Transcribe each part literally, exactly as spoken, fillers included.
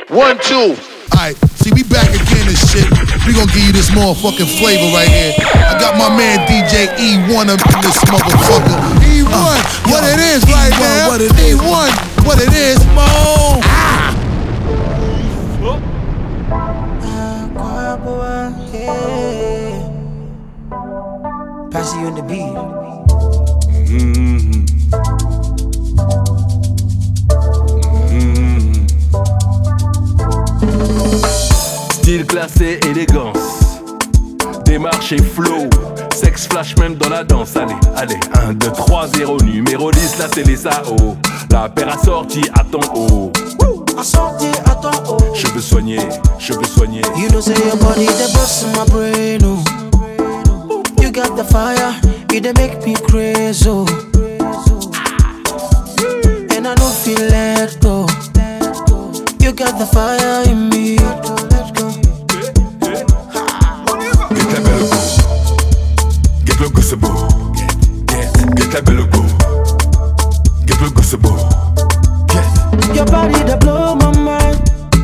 One, two. Alright, see, we back again and shit. We gonna give you this motherfucking flavor right here. I got my man D J E one up in this motherfucker. E one, uh, what yo, it is right E one, now. What it is. E one, what it is. Boom. Ah. Pass you on the beat. Mm-hmm. Mm-hmm. Style classé, élégance, démarche et flow, sexe flash même dans la danse. Allez, allez, un, deux, trois, zéro, numéro dix, là c'est les S A O. La paire assortie à ton haut. Assortie à ton haut. Cheveux soignés, cheveux soignés. You know say your body the boss in my brain, oh. You got the fire, you dey make me crazy, oh. And I don't feel let go. You got the fire in me. Let's go. Get la belle go. Get le go c'est beau. Get, get la belle go. Get le go c'est beau. Get. Your body that blow my mind.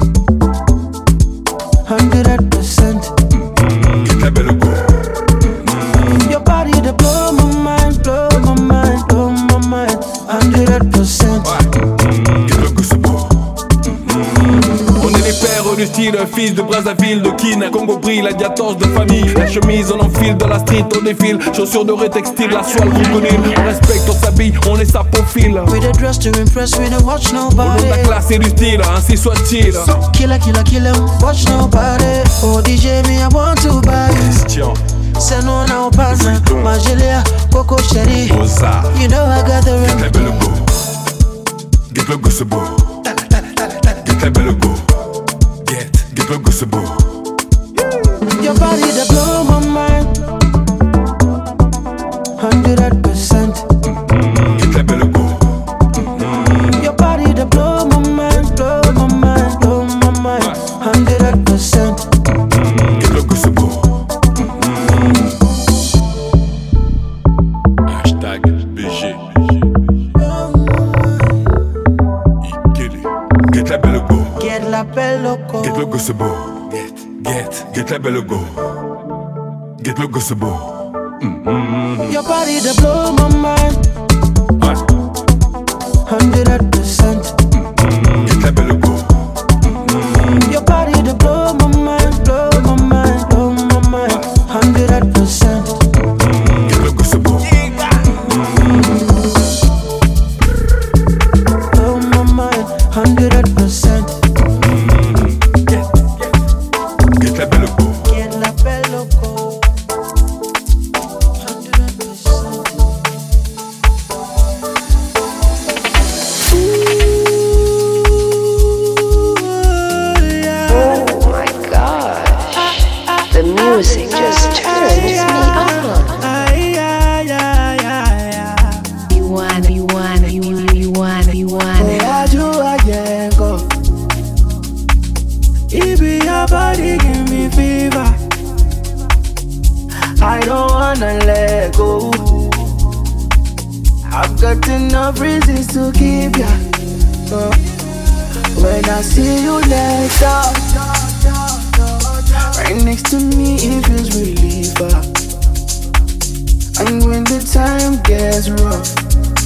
Hundred percent. Get la belle go. Your body that blow my mind, blow my mind, blow my mind. Hundred percent. Get le go c'est beau. On est les pères du style, fils de Brazzaville, de Kin, Congo brille, la diatorce de famille. La chemise on enfile, dans la street on défile. Chaussures dorées, textile, la soie, le crocodile. On respecte, on s'habille, on est sa profil. We the dress to impress, we don't watch nobody. On a la classe et du style, ainsi soit-il. Killer, killer, killer, watch nobody. Oh D J, me I want to buy you. Christian. C'est non, non, pas ça. Magelia, Coco Chérie. You know I got the Get la belle go. Get le go c'est beau. Get la belle go. Get, get le go c'est beau. Your body that blow my mind. Hundred percent. Get la belle go. Your body that blow my mind, blow my mind, blow my mind. Hundred percent. Get le go c'est beau. Hashtag B G. Get la belle go. Get la belle loco. Get le go c'est beau. Get, get, get la belle go. Get le go c'est beau. Mm-hmm. Your body that blow my mind. Hundred percent. Get la belle go. Your body that blow my mind, blow my mind, blow my mind. Hundred percent. Get le go c'est beau. Blow my mind, hundred percent. Get, get, get la belle go. Get la belle loco. Hundred percent. Oh my gosh, the music just turns me on. You want, you want, you want, you want, you want. It be your body give me fever. I don't wanna let go. I've got enough reasons to keep ya. Uh, when I see you next up, right next to me, it feels relief. Uh, and when the time gets rough,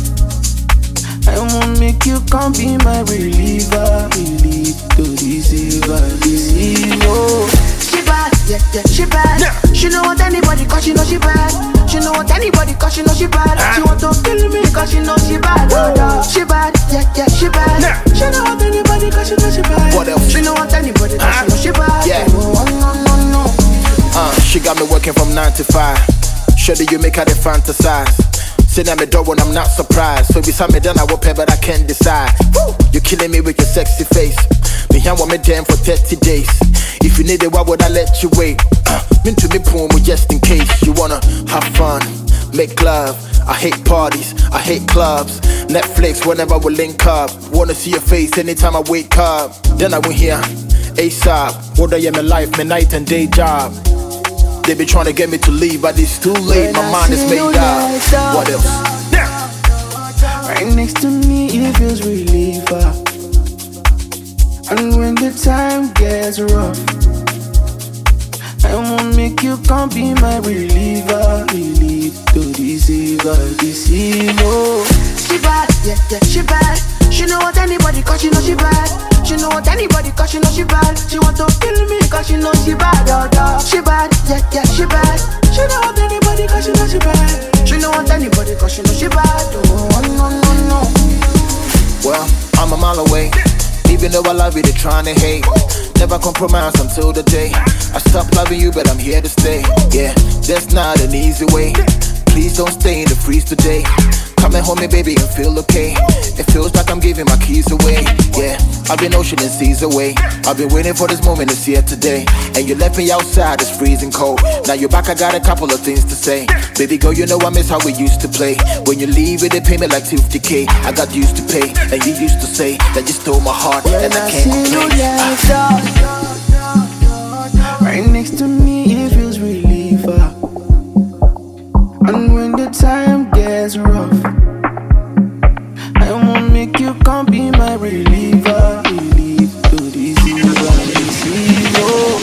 I won't make you come be my reliever. Relief to deceiver, deceiver. She bad, yeah, yeah, she bad. Yeah. She know what anybody cause she know she bad. She know what anybody cause she know she bad. Ah. She want to kill me cause she know she bad. Oh, yeah. She bad, yeah, yeah, she bad. Yeah. She know what anybody cause she know she bad. What else? She know what anybody cause ah. she know she bad. Yeah. Oh, no, no, no. Uh, she got me working from nine to five. Sure that you make her the fantasize. Sitting at my door when I'm not surprised. So beside me then I will pay but I can't decide. Woo! You're killing me with your sexy face. Me here want me damn for thirty days. If you need it, why would I let you wait? Uh, into me poem just in case. You wanna have fun, make love. I hate parties, I hate clubs. Netflix whenever we link up. Wanna see your face anytime I wake up. Then I went here, ASAP. What I am in life, my night and day job. They be trying to get me to leave, but it's too late. My mind is made up. What else? Right next to me, it feels relief. Uh, And when the time gets rough, I won't make you come be my reliever. Relief to deceiver, deceiver. She bad, yeah, yeah, she bad. She know what anybody cause she know she bad. She know what anybody cause she know she bad. She want to kill me cause she know she bad, oh, oh. She bad, yeah, yeah, she bad. She know what anybody cause she know she bad. She know what anybody cause she know she bad, oh, no, no, no. Well, I'm a mile away. Even though I love you, they're trying to hate. Never compromise until the day I stop loving you, but I'm here to stay. Yeah, that's not an easy way. Please don't stay in the freeze today. Coming home, baby, and feel okay. It feels like I'm giving my keys away. Yeah, I've been ocean and seas away. I've been waiting for this moment, it's here today. And you left me outside, it's freezing cold. Now you're back, I got a couple of things to say. Baby girl, you know I miss how we used to play. When you leave it, they pay me like fifty K. I got used to pay, and you used to say that you stole my heart, and I can't complain. Right next to me, it feels relief. uh. And when the time gets rough, I won't make you come be my reliever. Relief to deceiver, deceiver.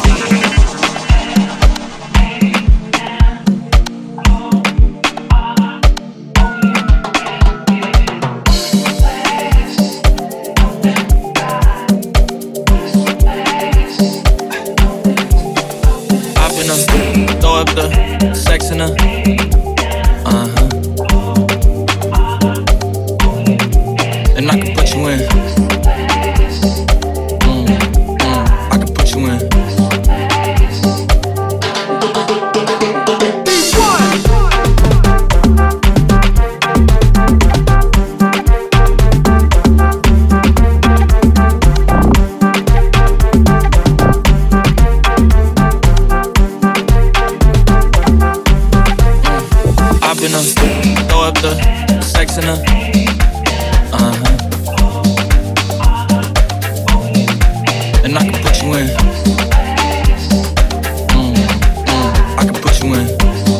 I've been up, throw up the sex in her. Uh-huh. And I can put you in. Mm, mm, I can put you in. I've been up, throw up the sex in her. Uh-huh. And I can put you in. Mm, mm, I can put you in.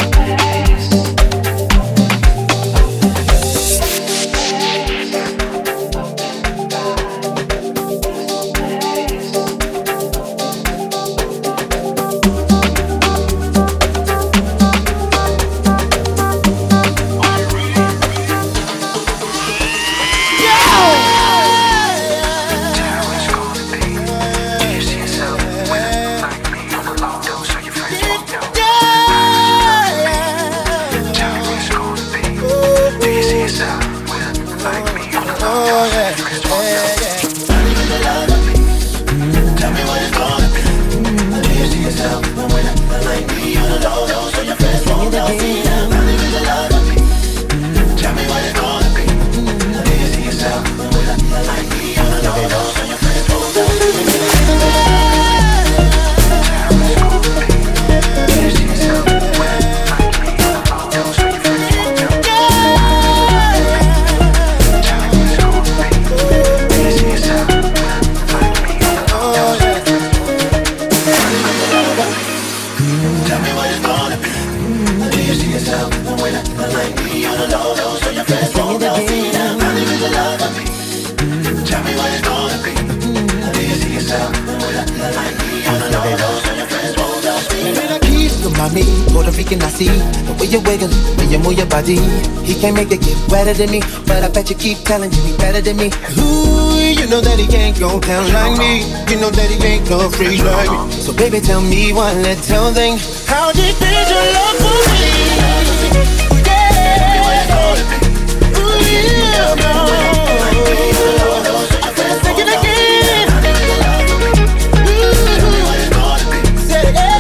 Puerto Rican, I see the way you wiggle, the way you move your body. He can't make it get wetter than me, but I bet you keep telling you he better than me. Ooh, you know that he can't go down like me. You know that he ain't no freak like me. So baby, tell me one little thing. How deep is your love for me? Yeah. Ooh, yeah, no. Take it again. Ooh, say it again.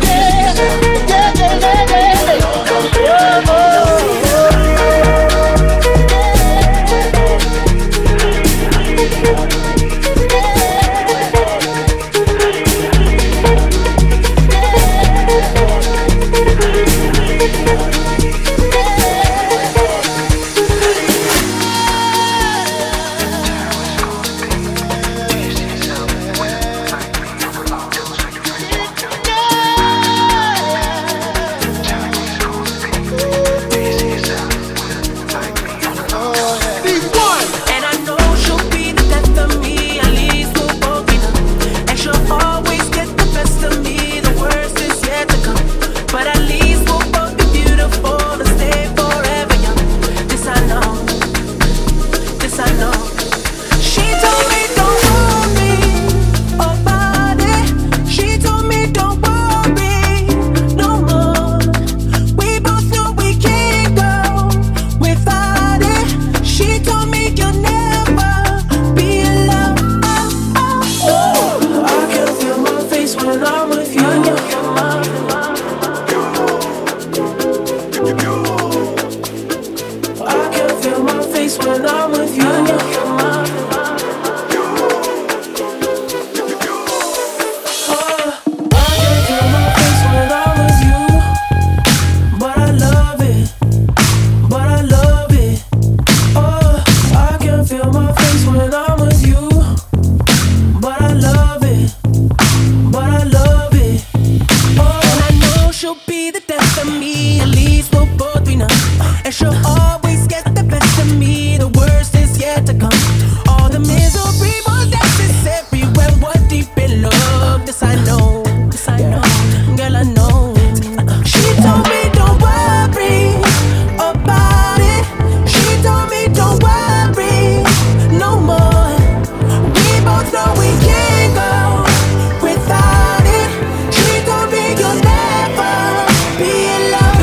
know we can't go without it. She told me you'll never be alone.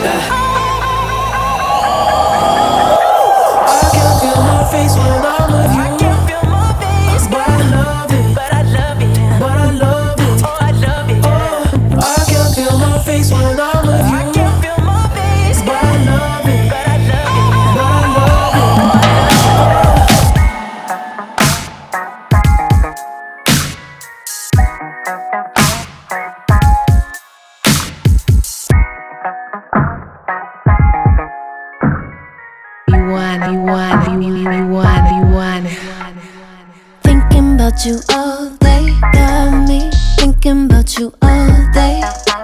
I can feel my face when I'm with you. I can feel my face, but I love it. But I love it. But I love it. Oh, I love it. Oh, I can feel my face when I'm with you. I can feel my face, but I love it. But I love it. But I love it. You want, you want, you, you want, you want. Thinking about you all day, got me thinking about you all day.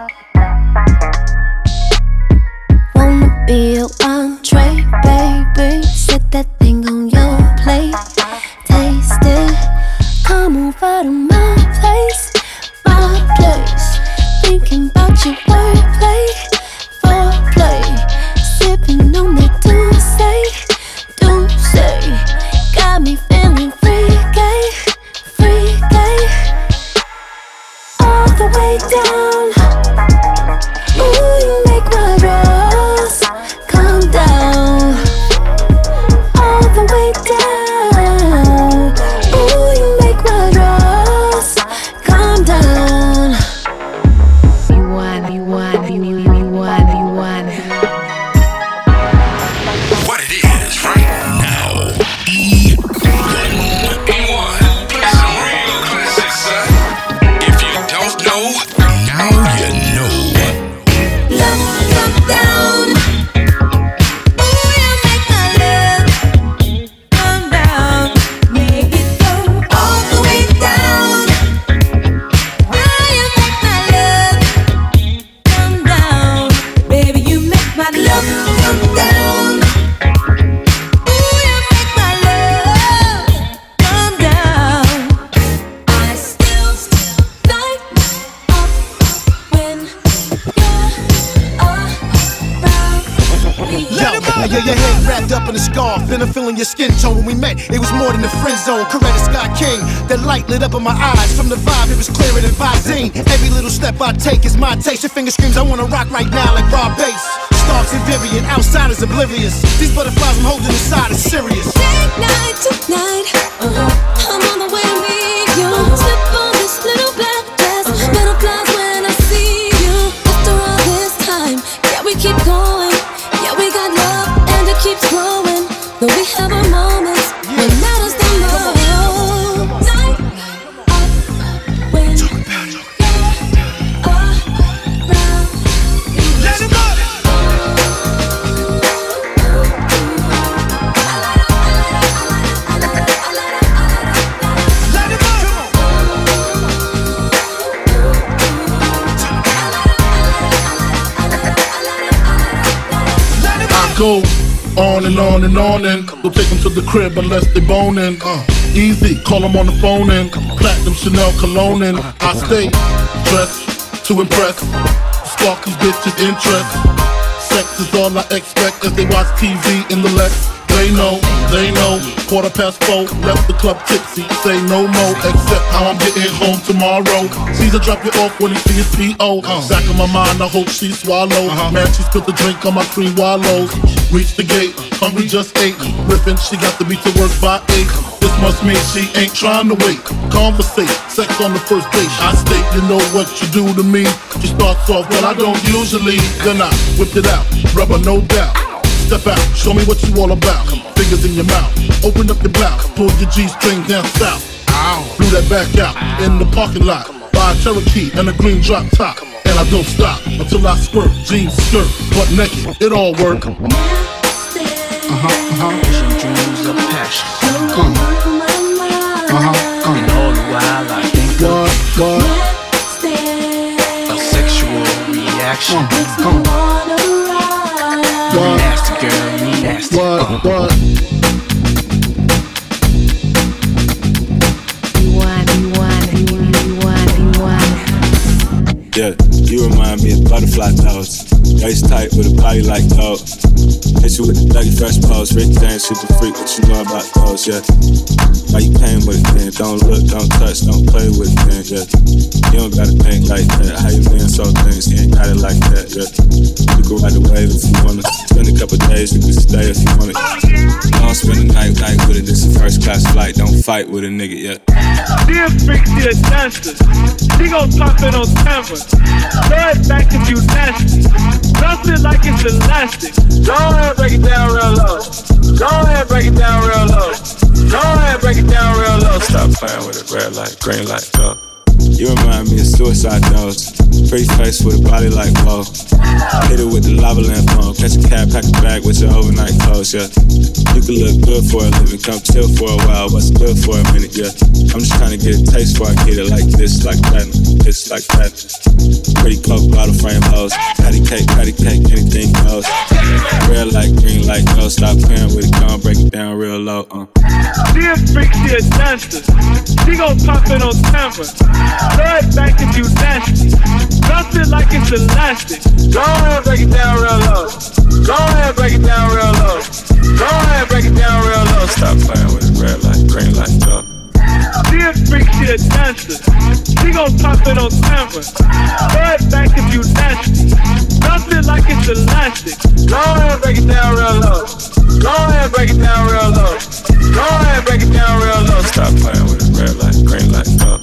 Wanna be a entree, baby. Set that thing on your plate. Taste it. Come over to my place, my place. Thinking about your wordplay, foreplay. Sipping on that Douce, Douce. Got me feeling freaky, freaky. All the way down. Ooh, you make my rose calm down. All the way down. Ooh, you make my rose calm down. You want, you want, you, you, you want, you want. What it is right now. E one. E one. Play some real classics, son. If you don't know, now you know. Love, love down. Ooh, you make my love come down. Make it go all the way down. Ooh, you make my love come down. Baby, you make my love come down. Ooh, you make my love come down. I still light up when you're around me. Yo, now yeah, your head wrapped up in a scarf, and I'm feeling your skin tone. When we met, it was more than the friend zone. Coretta Scott King, that light lit up in my eyes. From the vibe, it was clearer than Visine. Every little step I take is my taste. Your finger screams, I wanna rock right now like Rob Bass. Starks and Vivian, outsiders oblivious. These butterflies I'm holding inside is serious. Take night tonight. Uh-huh. I'm on the way to meet you. Slip on this little black dress. Butterflies when I see you. After all this time, yeah, we keep going. Yeah, we got love and it keeps growing. Though we have our moments, what matters the most. Night up when you're around. Let it go. Let it go. Let it go. I go on and on and on and don't take them to the crib unless they boning. Uh, easy, call them on the phone and platinum Chanel cologne and I stay dressed to impress, spark these bitches' interest. Sex is all I expect as they watch T V in the Lex. They know, they know, quarter past four, left the club tipsy, say no more, except how I'm getting home tomorrow. Caesar drop you off when he see his P O. Back of my mind, I hope she swallow. Man, she spilled the drink on my cream wallows. Reach the gate, hungry just ate. Rippin', she got to be to work by eight. This must mean she ain't trying to wait. Conversate, sex on the first date. I state, you know what you do to me. She starts off, well, I don't usually. Then I whipped it out, rubber no doubt. Step out, show me what you all about. Fingers in your mouth, open up your blouse, pull your G-string down south. Blew that back out in the parking lot. Buy a Cherokee and a green drop top. And I don't stop until I squirt, jeans, skirt, butt naked, it all work. Uh-huh, uh-huh. Vision, dreams of passion. Come. Uh-huh, uh-huh. And all the while I think What, what? of a sexual reaction. Come. What? Nasty girl, you nasty. What, what? You want, you want, you want, you want, you want. Yeah, you You remind me of butterfly thoughts. Waist tight with a body like gold. Hit you with the Dougie Fresh pose. Rick James, super freak, what you know about those, yeah. Why you came with it, man? Don't look, don't touch, don't play with it, man, yeah. You don't gotta think like that. How you been so things, you ain't got it like that, yeah. You can ride the wave if you wanna. Spend a couple days, you can stay if you wanna. Don't spend the night, night with it, this a first class flight. Don't fight with a nigga, yeah. Dear freak, she a dancer. She gon' pop it on camera. Throw it back if you nasty. Drop it like it's elastic. Go ahead, break it down real low. Go ahead, break it down real low. Go ahead, break it down real low. Stop playing with it, red light, green light, go. You remind me of suicide notes. Pretty face with a body like whoa. Hit it with the lava lamp on. Catch a cab, pack a bag with your overnight clothes, yeah. You can look good for a living, come chill for a while, but still for a minute, yeah. I'm just trying to get a taste before I get it like this, like that, this, like that. Pretty coke bottle frame hoes. Patty cake, patty cake, anything goes. Red light, green light, go. Stop playing with it, gon' break it down real low, uh. Dear freak, she a dancer. She gon' pop it on camera. Throw it back if you nasty. Drop it like it's elastic. Go ahead, break it down real low. Go ahead, break it down real low. Go ahead, break it down real low. Stop playing with it, red light, green light, go. Dear freak, she a dancer. She gon' pop it on camera. Throw it back if you nasty. Drop it like it's elastic. Go ahead, break it down real low. Go ahead, break it down real low. Go ahead, break it down real low. Stop playing with it, red light, green light, go.